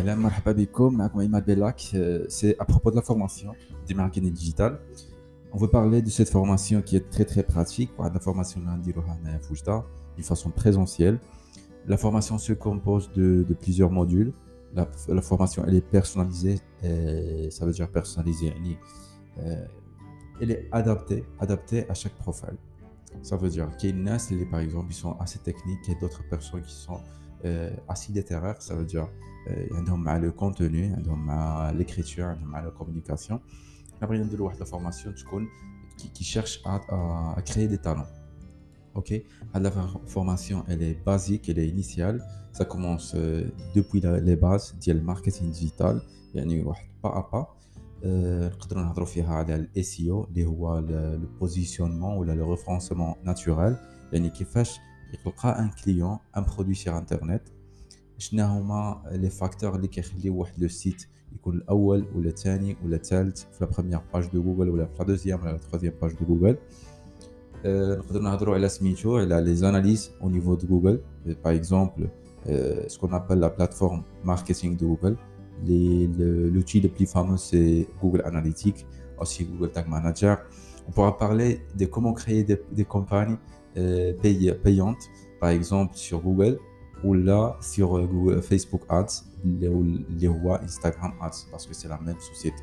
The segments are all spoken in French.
Ahlan, marhaba bikoum, معكم Imad Bellak. C'est à propos de la formation du marketing digital. On veut parler de cette formation qui est très très pratique. La formation à Fouchta, d'une façon présentielle. La formation se compose de plusieurs modules. La formation elle est personnalisée, ça veut dire personnalisée. Euh, Elle est adaptée à chaque profil. Ça veut dire qu'il y a une nas, par exemple, ils sont assez techniques et d'autres personnes qui sont assez littéraires. Ça veut dire ils ont le contenu, ils ont l'écriture, ils ont la communication. Après, il y a la formation qui cherche à créer des talents. Ok, la formation elle est basique, elle est initiale. Ça commence depuis les bases du marketing digital, يعني واحد pas à pas. نقدروا نهضروا فيها على الاس اي او اللي هو لو بوزيشنمون ولا لو ريفرنسمون ناتورال، يعني كيفاش يلقى ان كليون ان برودوي سيغ انترنت. شنو هما لي فاكتور اللي كيخليو واحد لو سيت يكون الاول ولا الثاني ولا الثالث في لا بروميير باج دو جوجل ولا في لا دوزيام ولا لا ترويزيام باج دو جوجل. نقدروا نهضروا على سميتو على لي زاناليز au niveau de Google. Par exemple, ce qu'on appelle la plateforme marketing de Google. L'outil le plus fameux, c'est Google Analytics, aussi Google Tag Manager. On pourra parler de comment créer des campagnes payantes, par exemple sur Google ou là sur Google, Facebook Ads, ou Instagram Ads, parce que c'est la même société.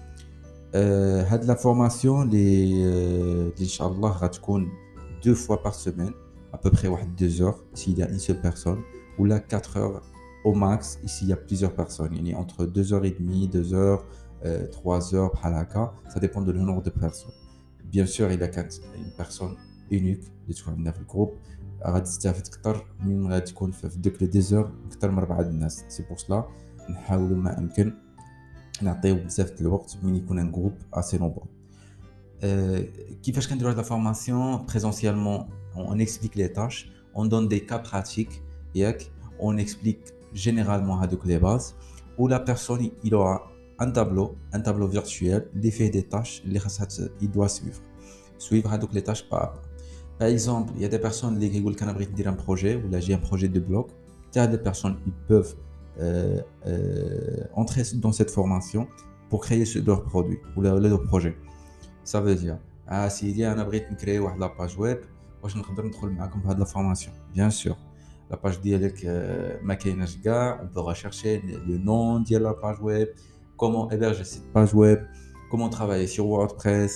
La formation, Inch'Allah, va être 2 fois par semaine, à peu près 2 heures, s'il y a une seule personne, ou là 4 heures au max, ici il y a plusieurs personnes. Il y a entre 2h30, 2 heures, 3 heures, ça dépend du nombre de personnes. Bien sûr, il y a une personne unique qui est dans le groupe. C'est pour cela que نعطيو بزاف الوقت من يكون ان جروب assez nombreux. كيفاش كنديروا هاد لا فورماسيون présentiellement؟ on explique les tâches, on donne des cas pratiques, on explique généralement هادوك les bases où la personne il aura un tableau virtuel اللي فيه des tâches اللي خاصها il doit suivre هادوك les tâches par exemple. Il y a des personnes اللي كيقول لك انا بغيت ندير un projet ولا j'ai un projet de blog. Des personnes ils peuvent entrer dans cette formation pour créer leur produit ou leur projet. Ça veut dire s'il y a un abri de créer une page web, واش نقدر ندخل معكم في هذه la formation. Bien sûr, la page ديالك ما كايناش كاع. On peut rechercher le nom de la page web, comment héberger cette page web, comment travailler sur WordPress.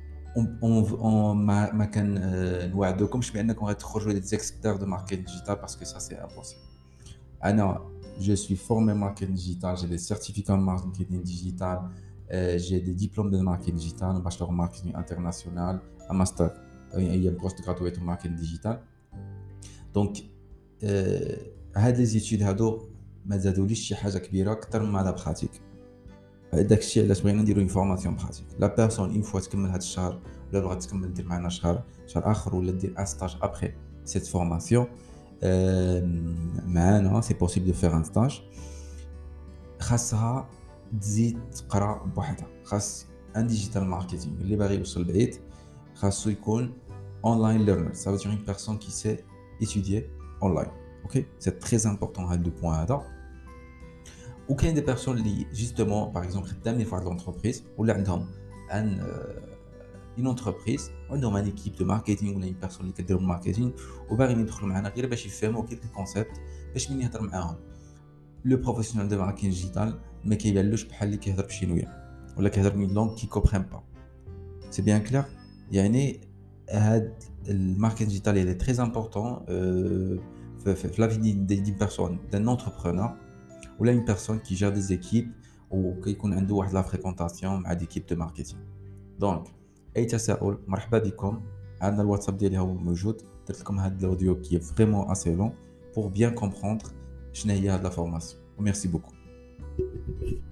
ما كان نوعدكمش بانكم غتخرجوا des experts de marketing digital parce que ça c'est impossible. Je suis formé en marketing digital, j'ai des certificats en marketing digital, j'ai des diplômes de marketing digital, un bachelor en marketing international, un master, il y a un postgraduate en marketing digital. Donc, هاد les études هادو ما زادوليش شي حاجه كبيره اكثر من لا براتيك. داكشي علاش بغينا نديرو اون فورماسيون براتيك. لا بيرسون اون فوا تكمل هاد الشهر ولا بغات تكمل دير معنا شهر اخر ولا دير ان ستاج ابري سيت فورماسيون معانا، سي بوسيبل دو فير ان ستاج. خاصها تزيد تقرا بوحدها. خاص ان ديجيتال ماركتينغ اللي باغي يوصل بعيد خاصو يكون اونلاين ليرنر. Ça veut dire une personne qui sait étudier online. OK, c'est très important هاد لو بوين هذا. وكاين دي بيرسون اللي جوستومون باغ اكزومبل خدامين في واحد لونتربريز ولا عندهم ان une entreprise عندهم ان ايكيب دو ماركتينغ ولا une personne اللي كدير الماركتينغ وباغيين يدخلوا معنا غير باش يفهموا كيف الكونسيبت باش من يهضر معاهم لو بروفيسيونيل دو ماركتينغ ديجيتال ما كيبانلوش بحال اللي كيهضر بالشينويه ولا كيهضر من لونغ كي كومبرين با. سي بيان كلير. يعني هاد الماركتينغ ديجيتال il est très important في لا في دي بيرسون دان انتربرونور ولا une personne qui gère des équipes وكيكون عنده واحد لا فريكونطاسيون مع ديكيب دو ماركتينغ. دونك اي تساؤل مرحبا بكم. عندنا الواتساب ديالي هو موجود. درت لكم هذا الاوديو كي فريمون اسي لون pour bien comprendre شنو هي هاد لا فورماسيون. Merci beaucoup.